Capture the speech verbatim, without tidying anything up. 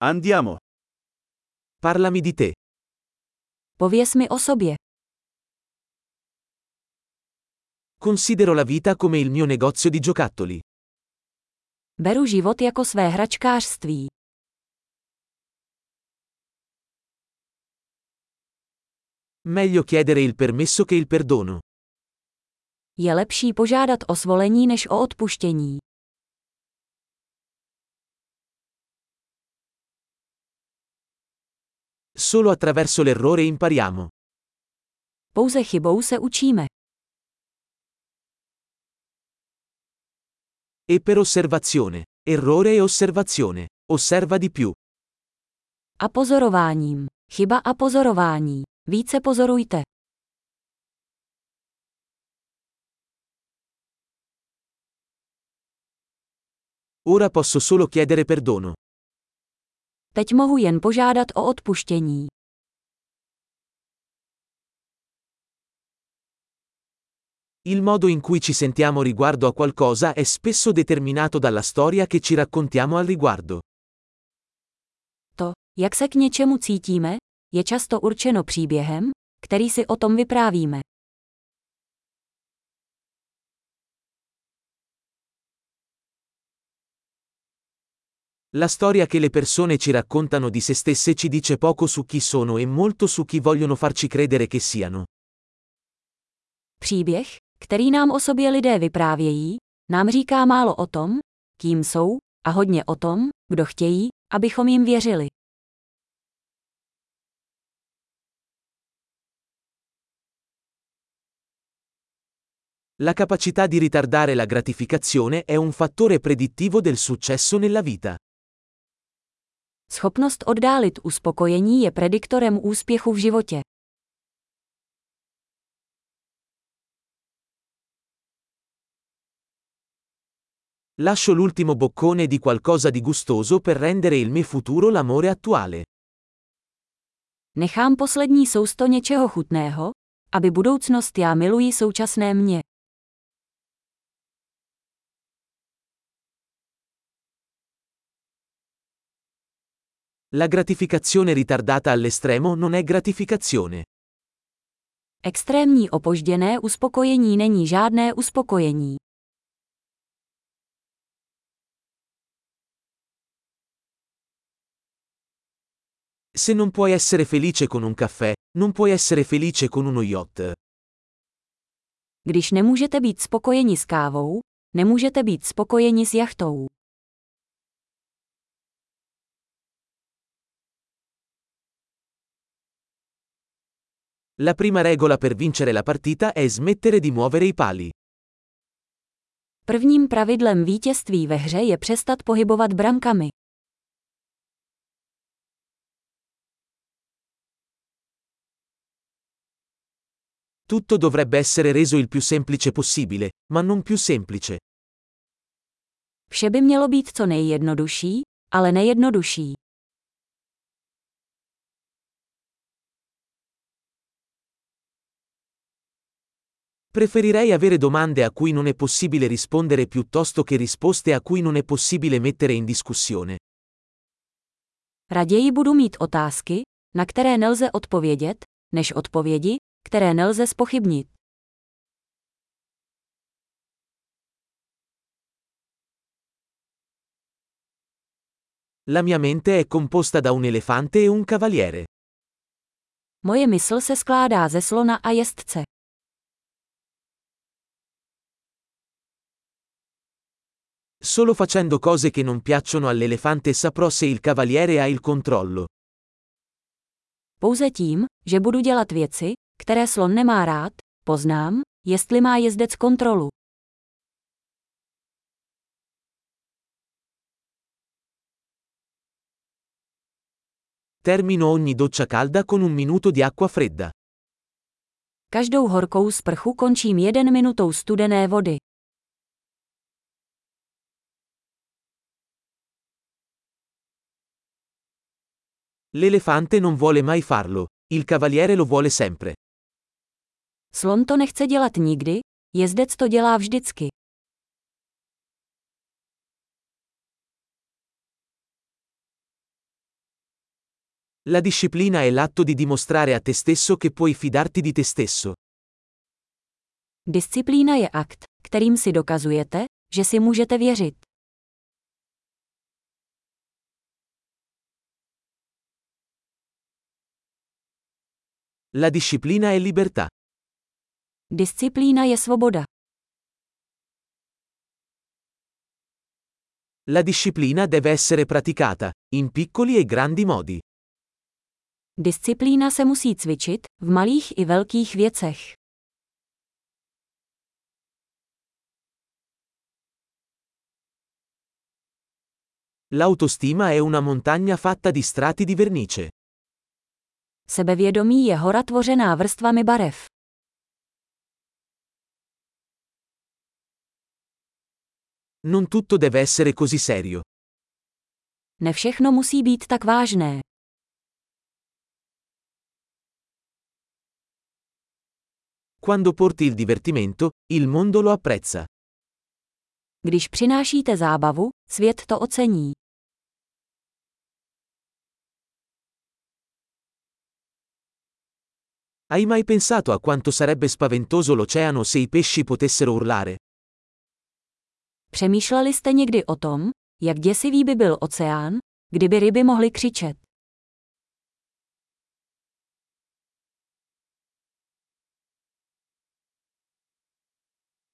Andiamo. Parlami di te. Pověz mi o sobě. Considero la vita come il mio negozio di giocattoli. Beru život jako své hračkářství. Meglio chiedere il permesso che il perdono. Je lepší požádat o svolení než o odpuštění. Solo attraverso l'errore impariamo. Pouze chybou se učíme. E per osservazione. Errore e osservazione. Osserva di più. A pozorováním. Chyba a pozorování. Více pozorujte. Ora posso solo chiedere perdono. Teď mohu jen požádat o odpuštění. Il modo in cui ci sentiamo riguardo a qualcosa è spesso determinato dalla storia che ci raccontiamo al riguardo. To, jak se k něčemu cítíme, je často určeno příběhem, který si o tom vyprávíme. La storia che le persone ci raccontano di se stesse ci dice poco su chi sono e molto su chi vogliono farci credere che siano. Příběh, který nám o sobě lidé vyprávějí, nám říká málo o tom, kým jsou, a hodně o tom, kdo chtějí, abychom jim věřili. La capacità di ritardare la gratificazione è un fattore predittivo del successo nella vita. Schopnost oddálit uspokojení je prediktorem úspěchu v životě. Lascio l'ultimo boccone di qualcosa di gustoso per rendere il mio futuro l'amore attuale. Nechám poslední sousto něčeho chutného, aby budoucnost já miluji současné mě. La gratificazione ritardata all'estremo non è gratificazione. Extrémní opožděné uspokojení není žádné uspokojení. Se non puoi essere felice con un caffè, non puoi essere felice con uno yacht. Když nemůžete být spokojeni s kávou, nemůžete být spokojeni s jachtou. La prima regola per vincere la partita è smettere di muovere i pali. Prvním pravidlem vítězství ve hře je přestat pohybovat brankami. Tutto dovrebbe essere reso il più semplice possibile, ma non più semplice. Vše by mělo být co nejjednodušší, ale nejjednodušší. Preferirei avere domande a cui non è possibile rispondere piuttosto che risposte a cui non è possibile mettere in discussione. Raději budu mít otázky, na které nelze odpovědět, než odpovědi, které nelze zpochybnit. La mia mente è composta da un elefante e un cavaliere. Moje mysl se skládá ze slona a jezdce. Solo facendo cose che non piacciono all'elefante saprò se il cavaliere ha il controllo. Pouze tím, že budu dělat věci, které slon nemá rád, poznám, jestli má jezdec kontrolu. Termino ogni doccia calda con un minuto di acqua fredda. Každou horkou sprchu končím jeden minutou studené vody. L'elefante non vuole mai farlo, il cavaliere lo vuole sempre. Slon to nechce dělat nikdy, jezdec to dělá vždycky. La disciplina è l'atto di dimostrare a te stesso che puoi fidarti di te stesso. Disciplína je akt, kterým si dokazujete, že si můžete věřit. La disciplina è libertà. Disciplína je svoboda. La disciplina deve essere praticata, in piccoli e grandi modi. Disciplína se musí cvičit, v malých i velkých věcech. L'autostima è una montagna fatta di strati di vernice. Sebevědomí je hora tvořená vrstvami barev. Non tutto deve essere così serio. Ne všechno musí být tak vážné. Quando porti il divertimento, il mondo lo apprezza. Když přinášíte zábavu, svět to ocení. Hai mai pensato a quanto sarebbe spaventoso l'oceano se i pesci potessero urlare? Přemýšleli jste někdy o tom, jak děsivý by byl oceán, kdyby ryby mohly křičet?